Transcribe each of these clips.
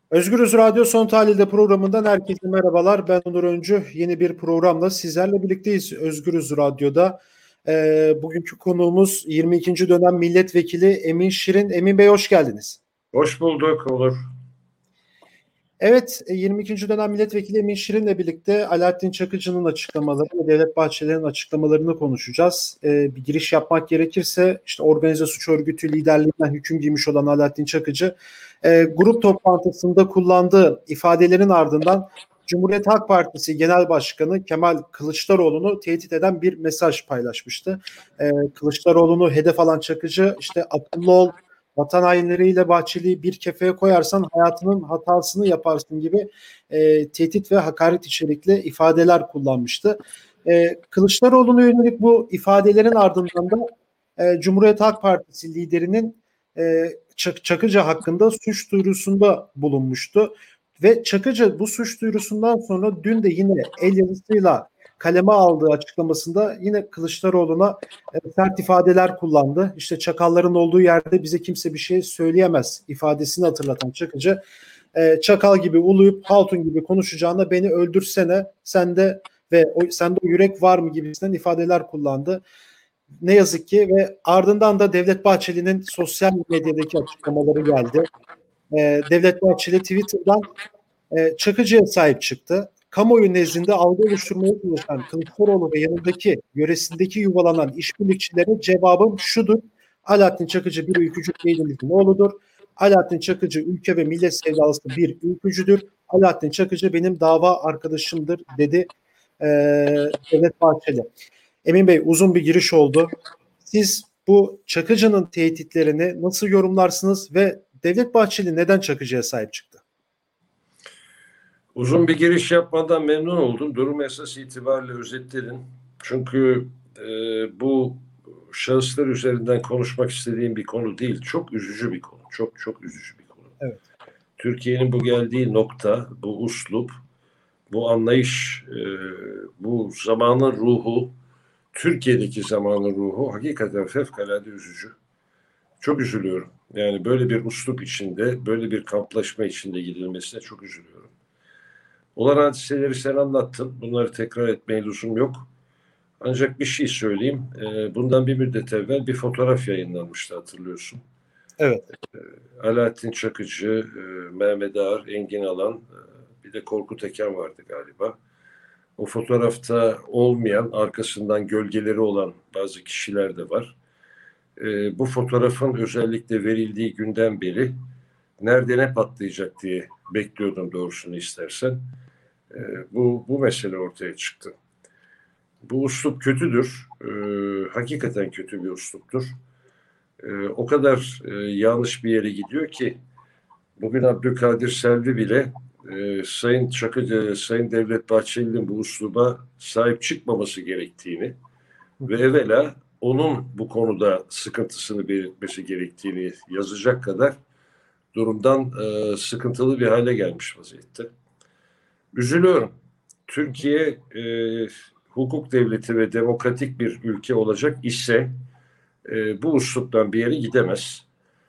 Özgürüz Radyo Son Tahlil'de programından herkese merhabalar. Ben Onur Öncü. Yeni bir programla sizlerle birlikteyiz Özgürüz Radyo'da. Bugünkü konuğumuz 22. dönem milletvekili Emin Şirin. Emin Bey hoş geldiniz. Hoş bulduk Onur. Evet, 22. dönem milletvekili Emin Şirin'le birlikte Alaaddin Çakıcı'nın açıklamaları ve Devlet Bahçeli'nin açıklamalarını konuşacağız. Bir giriş yapmak gerekirse işte organize suç örgütü liderliğinden hüküm giymiş olan Alaaddin Çakıcı grup toplantısında kullandığı ifadelerin ardından Cumhuriyet Halk Partisi Genel Başkanı Kemal Kılıçdaroğlu'nu tehdit eden bir mesaj paylaşmıştı. Kılıçdaroğlu'nu hedef alan Çakıcı işte akıllı ol, vatan hainleriyle Bahçeli'yi bir kefeye koyarsan hayatının hatasını yaparsın gibi tehdit ve hakaret içerikli ifadeler kullanmıştı. Kılıçdaroğlu'na yönelik bu ifadelerin ardından da Cumhuriyet Halk Partisi liderinin Çakıcı hakkında suç duyurusunda bulunmuştu. Ve Çakıcı bu suç duyurusundan sonra dün de yine el yazısıyla kaleme aldığı açıklamasında yine Kılıçdaroğlu'na sert ifadeler kullandı. İşte çakalların olduğu yerde bize kimse bir şey söyleyemez ifadesini hatırlatan Çakıcı, çakal gibi uluyup hatun gibi konuşacağına beni öldürsene sende o yürek var mı gibisinden ifadeler kullandı. Ne yazık ki ve ardından da Devlet Bahçeli'nin sosyal medyadaki açıklamaları geldi. Devlet Bahçeli Twitter'dan Çakıcı'ya sahip çıktı. Kamuoyu nezdinde algı oluşturmaya çalışan Kılıçdaroğlu ve yanındaki yöresindeki yuvalanan işbirlikçilere cevabım şudur. Alaaddin Çakıcı bir ülkücü değilimizin oğludur. Alaaddin Çakıcı ülke ve millet sevdalısı bir ülkücüdür. Alaaddin Çakıcı benim dava arkadaşımdır dedi Devlet Bahçeli. Emin Bey uzun bir giriş oldu. Siz bu Çakıcı'nın tehditlerini nasıl yorumlarsınız ve Devlet Bahçeli neden Çakıcı'ya sahip çıktı? Uzun bir giriş yapmadan memnun oldum. Durum esas itibariyle özetledin. Çünkü bu şahıslar üzerinden konuşmak istediğim bir konu değil. Çok üzücü bir konu. Çok çok üzücü bir konu. Evet. Türkiye'nin bu geldiği nokta, bu uslup, bu anlayış, bu zamanın ruhu, Türkiye'deki zamanın ruhu hakikaten fevkalade üzücü. Çok üzülüyorum. Yani böyle bir uslup içinde, böyle bir kamplaşma içinde gidilmesine çok üzülüyorum. Olan hadiseleri sen anlattın. Bunları tekrar etmeye lüzum yok. Ancak bir şey söyleyeyim. Bundan bir müddet evvel bir fotoğraf yayınlanmıştı hatırlıyorsun. Evet. Alaaddin Çakıcı, Mehmet Ağar, Engin Alan, bir de Korkut Eken vardı galiba. O fotoğrafta olmayan, arkasından gölgeleri olan bazı kişiler de var. Bu fotoğrafın özellikle verildiği günden beri nerede ne patlayacak diye bekliyordum doğrusunu istersen. Bu mesele ortaya çıktı. Bu uslup kötüdür. Hakikaten kötü bir usluptur. O kadar yanlış bir yere gidiyor ki bugün Abdülkadir Selvi bile Sayın Çakıcı, Sayın Devlet Bahçeli'nin bu usluba sahip çıkmaması gerektiğini ve evvela onun bu konuda sıkıntısını belirtmesi gerektiğini yazacak kadar durumdan sıkıntılı bir hale gelmiş vaziyette. Üzülüyorum. Türkiye hukuk devleti ve demokratik bir ülke olacak ise bu usluptan bir yere gidemez.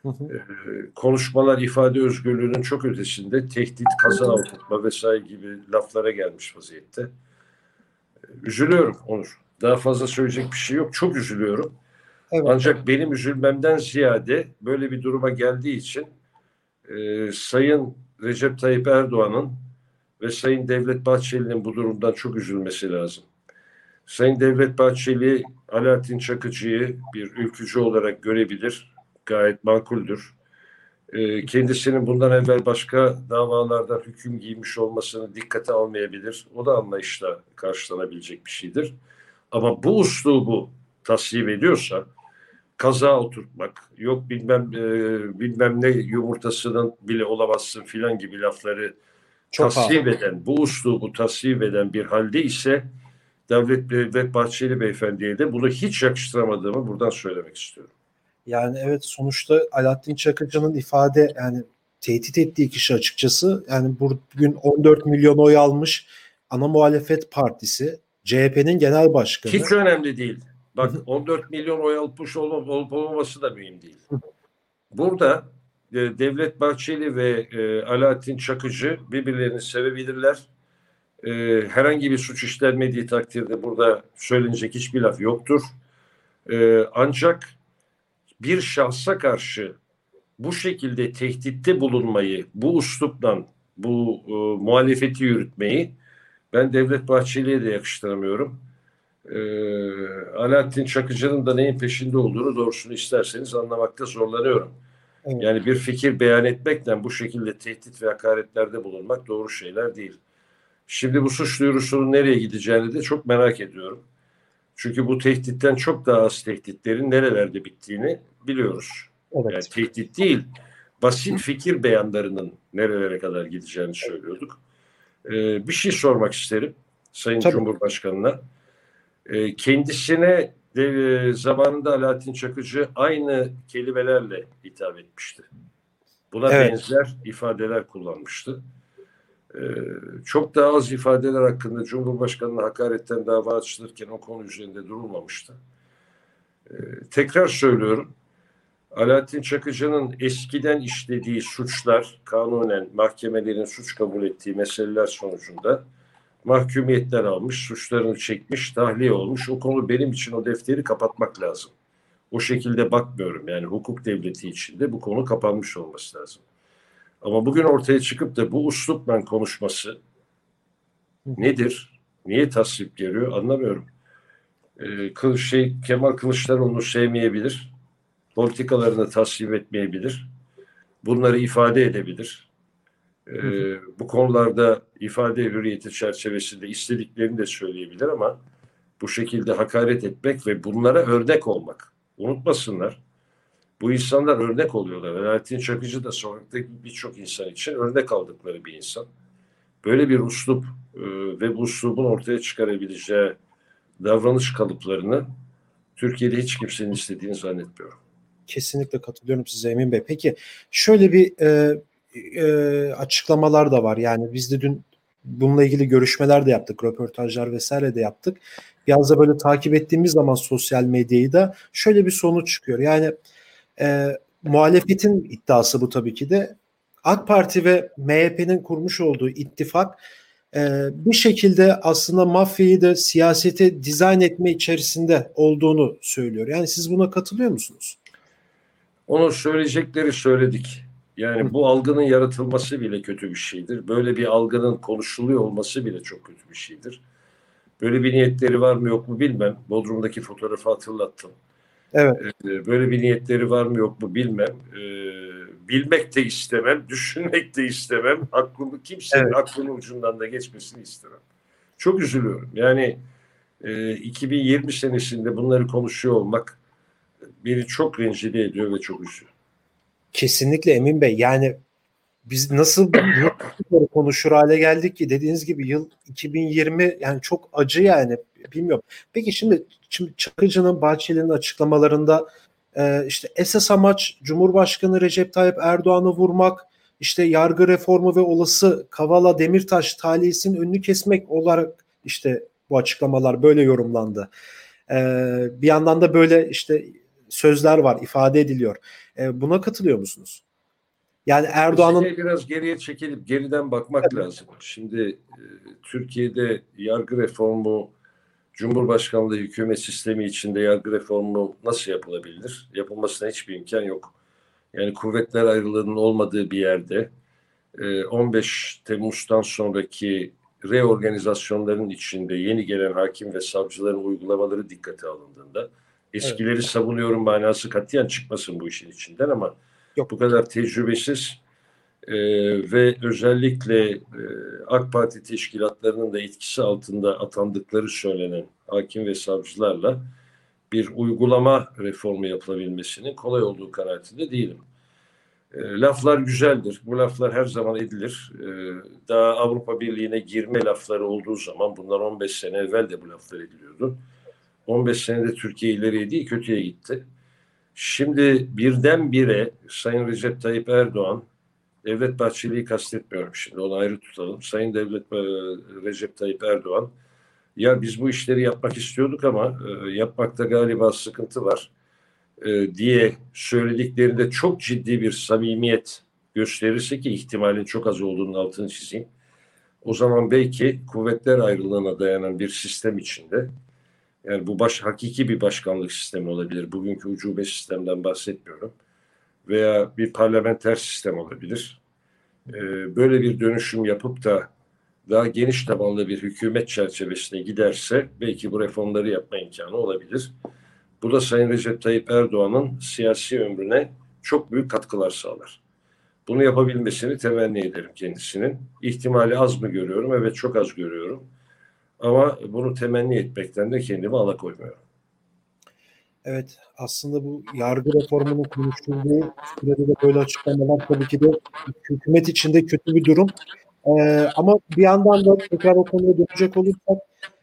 Konuşmalar ifade özgürlüğünün çok ötesinde tehdit, kaza oturtma vesaire gibi laflara gelmiş vaziyette. Üzülüyorum Onur. Daha fazla söyleyecek bir şey yok. Çok üzülüyorum. Evet. Ancak benim üzülmemden ziyade böyle bir duruma geldiği için Sayın Recep Tayyip Erdoğan'ın ve Sayın Devlet Bahçeli'nin bu durumdan çok üzülmesi lazım. Sayın Devlet Bahçeli Alaaddin Çakıcı'yı bir ülkücü olarak görebilir. Gayet makuldür. Kendisinin bundan evvel başka davalardan hüküm giymiş olmasını dikkate almayabilir. O da anlayışla karşılanabilecek bir şeydir. Ama bu uslubu tasvip ediyorsa kaza oturtmak, yok bilmem ne yumurtasının bile olamazsın filan gibi lafları tasvip eden, bu uslubu tasvip eden bir halde ise Devlet Bahçeli Beyefendi'ye de bunu hiç yakıştıramadığımı buradan söylemek istiyorum. Yani evet sonuçta Alaaddin Çakıcı'nın yani tehdit ettiği kişi açıkçası yani bugün 14 milyon oy almış ana muhalefet partisi CHP'nin genel başkanı. Hiç önemli değil. Bak 14 milyon oy almış olup olmaması da mühim değil. Burada Devlet Bahçeli ve Alaaddin Çakıcı birbirlerini sevebilirler. Herhangi bir suç işlenmediği takdirde burada söylenecek hiçbir laf yoktur. Ancak bir şahsa karşı bu şekilde tehditte bulunmayı, bu üslupla bu muhalefeti yürütmeyi ben Devlet Bahçeli'ye de yakıştıramıyorum. Alaaddin Çakıcı'nın da neyin peşinde olduğunu doğrusunu isterseniz anlamakta zorlanıyorum. Evet. Yani bir fikir beyan etmekle bu şekilde tehdit ve hakaretlerde bulunmak doğru şeyler değil. Şimdi bu suç duyurusunun nereye gideceğini de çok merak ediyorum. Çünkü bu tehditten çok daha az tehditlerin nerelerde bittiğini biliyoruz. Yani Evet. tehdit değil, basit fikir beyanlarının nerelere kadar gideceğini söylüyorduk. Bir şey sormak isterim Sayın Tabii. Cumhurbaşkanı'na. Kendisine zamanında Alaaddin Çakıcı aynı kelimelerle hitap etmişti. Buna Evet. benzer ifadeler kullanmıştı. Çok daha az ifadeler hakkında Cumhurbaşkanı'na hakaretten dava açılırken o konu üzerinde durulmamıştı. Tekrar söylüyorum, Alaaddin Çakıcı'nın eskiden işlediği suçlar, kanunen mahkemelerin suç kabul ettiği meseleler sonucunda mahkumiyetler almış, suçlarını çekmiş, tahliye olmuş. O konu benim için o defteri kapatmak lazım. O şekilde bakmıyorum. Yani hukuk devleti içinde bu konu kapanmış olması lazım. Ama bugün ortaya çıkıp da bu üslupla konuşması nedir? Niye tasvip geliyor? Anlamıyorum. Kemal Kılıçdaroğlu sevmeyebilir. Politikalarını tasvip etmeyebilir. Bunları ifade edebilir. Bu konularda ifade hürriyeti çerçevesinde istediklerini de söyleyebilir ama bu şekilde hakaret etmek ve bunlara örnek olmak. Unutmasınlar. Bu insanlar örnek oluyorlar. Alaaddin Çakıcı da sokaktaki birçok insan için örnek aldıkları bir insan. Böyle bir üslup ve bu üslubun ortaya çıkarabileceği davranış kalıplarını Türkiye'de hiç kimsenin istediğini zannetmiyorum. Kesinlikle katılıyorum size Emin Bey. Peki şöyle bir açıklamalar da var. Yani biz de dün bununla ilgili görüşmeler de yaptık, röportajlar vesaire de yaptık. Biraz da böyle takip ettiğimiz zaman sosyal medyayı da şöyle bir sonuç çıkıyor. Yani muhalefetin iddiası bu tabii ki de. AK Parti ve MHP'nin kurmuş olduğu ittifak bir şekilde aslında mafyayı da siyasete dizayn etme içerisinde olduğunu söylüyor. Yani siz buna katılıyor musunuz? Onu söyleyecekleri söyledik. Yani bu algının yaratılması bile kötü bir şeydir. Böyle bir algının konuşuluyor olması bile çok kötü bir şeydir. Böyle bir niyetleri var mı yok mu bilmem. Bodrum'daki fotoğrafı hatırlattım. Evet. Böyle bir niyetleri var mı yok mu bilmem. Bilmek de istemem, düşünmek de istemem. Kimsenin Evet. aklının ucundan da geçmesini istemem. Çok üzülüyorum. Yani 2020 senesinde bunları konuşuyor olmak beni çok rencide ediyor ve çok üzüyor. Kesinlikle Emin Bey. Yani biz nasıl bunu konuşur hale geldik ki dediğiniz gibi yıl 2020 yani çok acı yani bilmiyorum. Peki şimdi Çakıcı'nın Bahçeli'nin açıklamalarında işte esas amaç Cumhurbaşkanı Recep Tayyip Erdoğan'ı vurmak, işte yargı reformu ve olası Kavala Demirtaş tahliyesinin önünü kesmek olarak işte bu açıklamalar böyle yorumlandı. Bir yandan da böyle işte sözler var, ifade ediliyor. Buna katılıyor musunuz? Yani Erdoğan'ın Meseleye biraz geriye çekilip geriden bakmak lazım. Şimdi Türkiye'de yargı reformu, Cumhurbaşkanlığı hükümet sistemi içinde yargı reformu nasıl yapılabilir? Yapılmasına hiçbir imkan yok. Yani kuvvetler ayrılığının olmadığı bir yerde 15 Temmuz'dan sonraki reorganizasyonların içinde yeni gelen hakim ve savcıların uygulamaları dikkate alındığında evet, eskileri savunuyorum manası katiyen çıkmasın bu işin içinden ama yok bu kadar tecrübesiz ve özellikle AK Parti teşkilatlarının da etkisi altında atandıkları söylenen hakim ve savcılarla bir uygulama reformu yapılabilmesinin kolay olduğu kanaatinde değilim. Laflar güzeldir. Bu laflar her zaman edilir. Daha Avrupa Birliği'ne girme lafları olduğu zaman bunlar 15 sene evvel de bu laflar ediliyordu. 15 senede Türkiye ileriye değil kötüye gitti. Şimdi birdenbire Sayın Recep Tayyip Erdoğan, Devlet Bahçeli'yi kastetmiyorum şimdi onu ayrı tutalım. Sayın Recep Tayyip Erdoğan, ya biz bu işleri yapmak istiyorduk ama yapmakta galiba sıkıntı var. diye söylediklerinde çok ciddi bir samimiyet gösterirse, ki ihtimalin çok az olduğunun altını çizeyim, o zaman belki kuvvetler ayrılığına dayanan bir sistem içinde, yani bu hakiki bir başkanlık sistemi olabilir. Bugünkü ucube sistemden bahsetmiyorum. Veya bir parlamenter sistem olabilir. Böyle bir dönüşüm yapıp da daha geniş tabanlı bir hükümet çerçevesine giderse belki bu reformları yapma imkanı olabilir. Bu da Sayın Recep Tayyip Erdoğan'ın siyasi ömrüne çok büyük katkılar sağlar. Bunu yapabilmesini temenni ederim kendisinin. İhtimali az mı görüyorum? Evet, çok az görüyorum. Ama bunu temenni etmekten de kendimi alakoymuyorum. Evet, aslında bu yargı reformunun konuşulduğu sürede de böyle açıklamalar tabii ki de hükümet içinde kötü bir durum. Ama bir yandan da tekrar o konuya dönecek olursak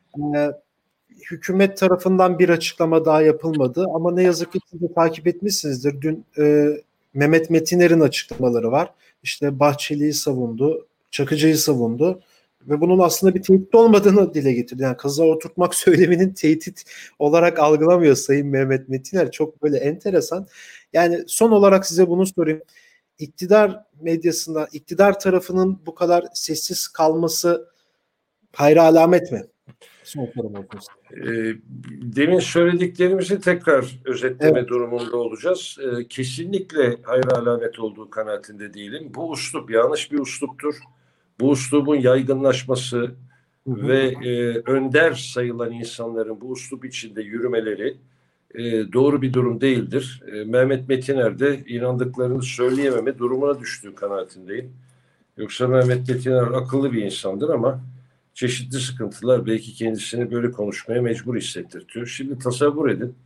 hükümet tarafından bir açıklama daha yapılmadı. Ama ne yazık ki siz de takip etmişsinizdir. Dün Mehmet Metiner'in açıklamaları var. İşte Bahçeli'yi savundu, Çakıcı'yı savundu. Ve bunun aslında bir tehdit olmadığını dile getirdi. Yani kıza oturtmak söyleminin tehdit olarak algılamıyor Sayın Mehmet Metiner. Çok böyle enteresan. Yani son olarak size bunu sorayım. İktidar medyasında, iktidar tarafının bu kadar sessiz kalması hayra alamet mi? Son sorum olsun. Demin söylediklerimizi tekrar özetleme Evet. durumunda olacağız. Kesinlikle hayra alamet olduğu kanaatinde değilim. Bu üslup yanlış bir üsluptur. Bu üslubun yaygınlaşması ve önder sayılan insanların bu üslup içinde yürümeleri doğru bir durum değildir. Mehmet Metiner de inandıklarını söyleyememe durumuna düştüğü kanaatindeyim. Yoksa Mehmet Metiner akıllı bir insandır ama çeşitli sıkıntılar belki kendisini böyle konuşmaya mecbur hissettirtiyor. Şimdi tasavvur edin.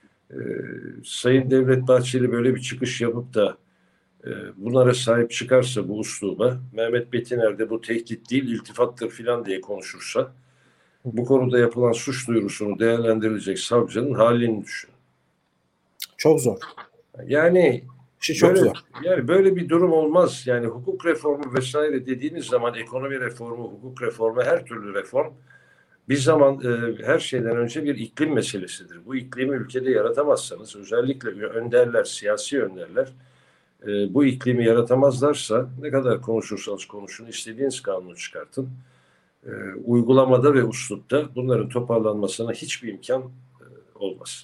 Sayın Devlet Bahçeli böyle bir çıkış yapıp da bunlara sahip çıkarsa, bu usluba, Mehmet Metiner de bu tehdit değil iltifattır filan diye konuşursa, bu konuda yapılan suç duyurusunu değerlendirilecek savcının halini düşün. Çok zor. Yani Çok zor. Yani böyle bir durum olmaz. Yani hukuk reformu vesaire dediğiniz zaman ekonomi reformu, hukuk reformu, her türlü reform bir zaman her şeyden önce bir iklim meselesidir. Bu iklimi ülkede yaratamazsanız, özellikle önderler, siyasi önderler bu iklimi yaratamazlarsa ne kadar konuşursanız konuşun, istediğiniz kanunu çıkartın. Uygulamada ve uslupta bunların toparlanmasına hiçbir imkan olmaz.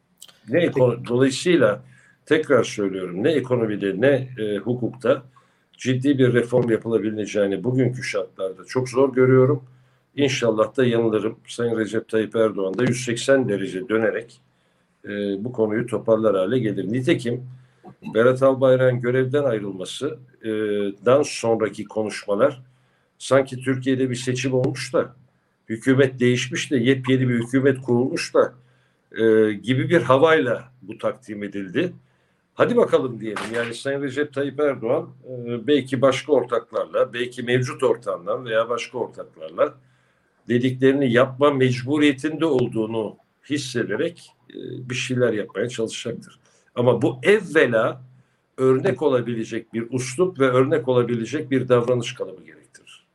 Dolayısıyla tekrar söylüyorum, ne ekonomide ne hukukta ciddi bir reform yapılabileceğini bugünkü şartlarda çok zor görüyorum. İnşallah da yanılırım. Sayın Recep Tayyip Erdoğan da 180 derece dönerek bu konuyu toparlar hale gelir. Nitekim Berat Albayrak'ın görevden ayrılmasından sonraki konuşmalar sanki Türkiye'de bir seçim olmuş da hükümet değişmiş de yepyeni bir hükümet kurulmuş da gibi bir havayla bu takdim edildi. Hadi bakalım diyelim. Yani Sayın Recep Tayyip Erdoğan belki başka ortaklarla, belki mevcut ortağından veya başka ortaklarla dediklerini yapma mecburiyetinde olduğunu hissederek bir şeyler yapmaya çalışacaktır. Ama bu evvela örnek olabilecek bir üslup ve örnek olabilecek bir davranış kalıbı gerektirir.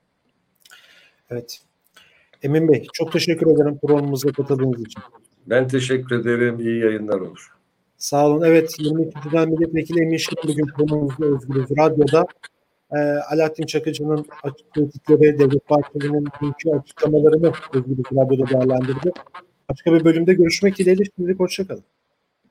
Evet. Emin Bey, çok teşekkür ederim programımıza katıldığınız için. Ben teşekkür ederim. İyi yayınlar olur. Sağ olun. Evet, 22'den milletvekili Emin Şirin bugün programımızda Özgürüz Radyo'da. Alaaddin Çakıcı'nın açık tehditleri, Devlet Bahçeli'nin dünkü açıklamalarını Özgürüz Radyo'da değerlendirdi. Başka bir bölümde görüşmek dileğiyle. Şimdilik hoşçakalın.